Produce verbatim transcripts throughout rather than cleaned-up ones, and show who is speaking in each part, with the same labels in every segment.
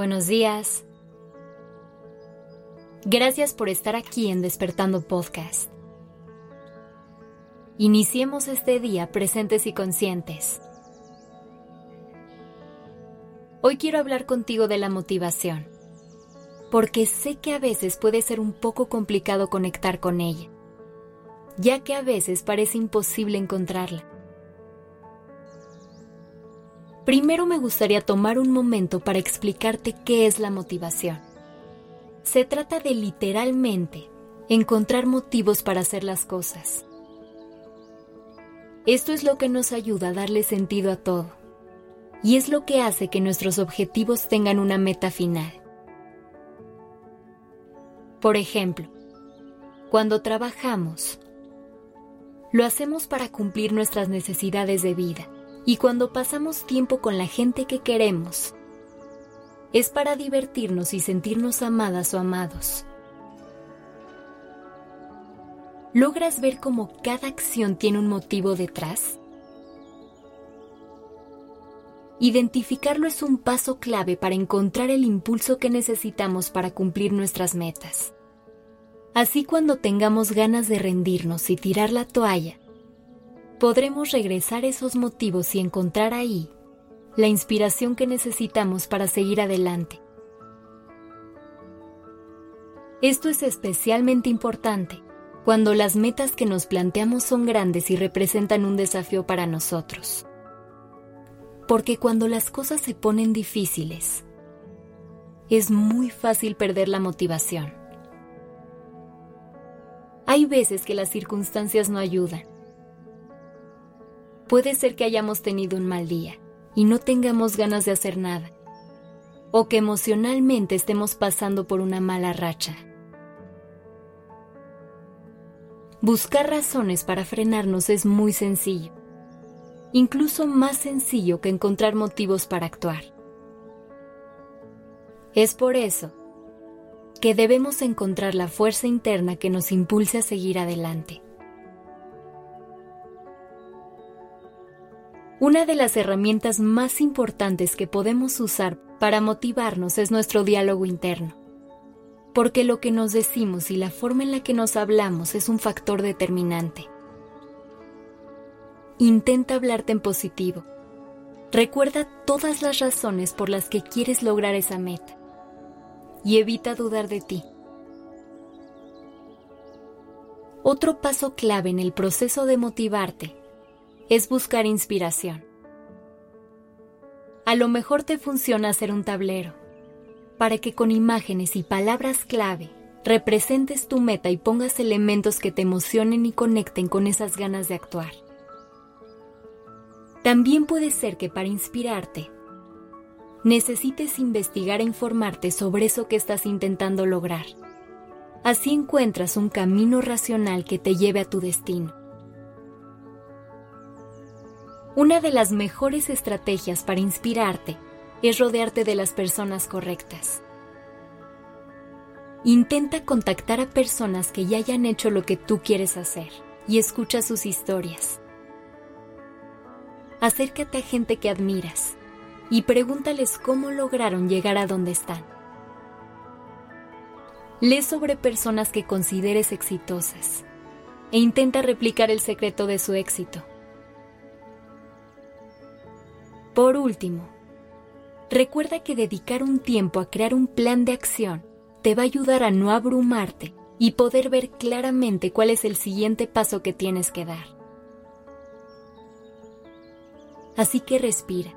Speaker 1: buenos días. Gracias por estar aquí en Despertando Podcast. Iniciemos este día presentes y conscientes. Hoy quiero hablar contigo de la motivación, porque sé que a veces puede ser un poco complicado conectar con ella, ya que a veces parece imposible encontrarla. Primero me gustaría tomar un momento para explicarte qué es la motivación. Se trata de literalmente encontrar motivos para hacer las cosas. Esto es lo que nos ayuda a darle sentido a todo, y es lo que hace que nuestros objetivos tengan una meta final. Por ejemplo, cuando trabajamos, lo hacemos para cumplir nuestras necesidades de vida. Y cuando pasamos tiempo con la gente que queremos, es para divertirnos y sentirnos amadas o amados. ¿Logras ver cómo cada acción tiene un motivo detrás? Identificarlo es un paso clave para encontrar el impulso que necesitamos para cumplir nuestras metas. Así, cuando tengamos ganas de rendirnos y tirar la toalla, podremos regresar esos motivos y encontrar ahí la inspiración que necesitamos para seguir adelante. Esto es especialmente importante cuando las metas que nos planteamos son grandes y representan un desafío para nosotros. Porque cuando las cosas se ponen difíciles, es muy fácil perder la motivación. Hay veces que las circunstancias no ayudan. Puede ser que hayamos tenido un mal día y no tengamos ganas de hacer nada, o que emocionalmente estemos pasando por una mala racha. Buscar razones para frenarnos es muy sencillo, incluso más sencillo que encontrar motivos para actuar. Es por eso que debemos encontrar la fuerza interna que nos impulse a seguir adelante. Una de las herramientas más importantes que podemos usar para motivarnos es nuestro diálogo interno, porque lo que nos decimos y la forma en la que nos hablamos es un factor determinante. Intenta hablarte en positivo. Recuerda todas las razones por las que quieres lograr esa meta y evita dudar de ti. Otro paso clave en el proceso de motivarte es buscar inspiración. A lo mejor te funciona hacer un tablero, para que con imágenes y palabras clave representes tu meta y pongas elementos que te emocionen y conecten con esas ganas de actuar. También puede ser que para inspirarte, necesites investigar e informarte sobre eso que estás intentando lograr. Así encuentras un camino racional que te lleve a tu destino. Una de las mejores estrategias para inspirarte es rodearte de las personas correctas. Intenta contactar a personas que ya hayan hecho lo que tú quieres hacer y escucha sus historias. Acércate a gente que admiras y pregúntales cómo lograron llegar a donde están. Lee sobre personas que consideres exitosas e intenta replicar el secreto de su éxito. Por último, recuerda que dedicar un tiempo a crear un plan de acción te va a ayudar a no abrumarte y poder ver claramente cuál es el siguiente paso que tienes que dar. Así que respira.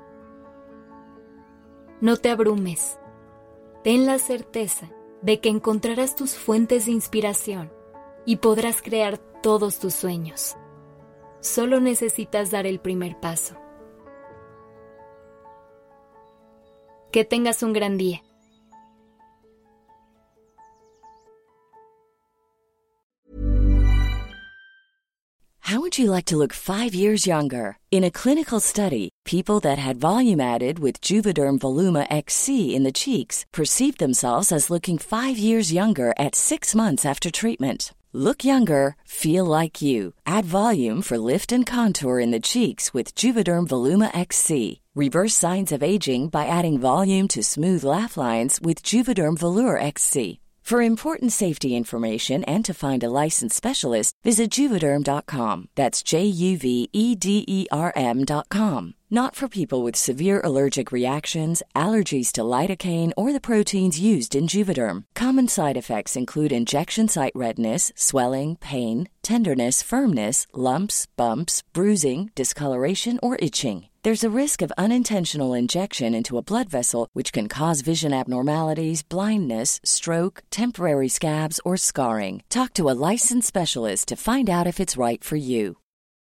Speaker 1: No te abrumes. Ten la certeza de que encontrarás tus fuentes de inspiración y podrás crear todos tus sueños. Solo necesitas dar el primer paso. Que tengas un gran día.
Speaker 2: How would you like to look five years younger? In a clinical study, people that had volume added with Juvederm Voluma X C in the cheeks perceived themselves as looking five years younger at six months after treatment. Look younger, feel like you. Add volume for lift and contour in the cheeks with Juvederm Voluma X C. Reverse signs of aging by adding volume to smooth laugh lines with Juvederm Volure X C. For important safety information and to find a licensed specialist, visit Juvederm dot com. That's J U V E D E R M dot com. Not for people with severe allergic reactions, allergies to lidocaine, or the proteins used in Juvederm. Common side effects include injection site redness, swelling, pain, tenderness, firmness, lumps, bumps, bruising, discoloration, or itching. There's a risk of unintentional injection into a blood vessel, which can cause vision abnormalities, blindness, stroke, temporary scabs, or scarring. Talk to a licensed specialist to find out if it's right for you.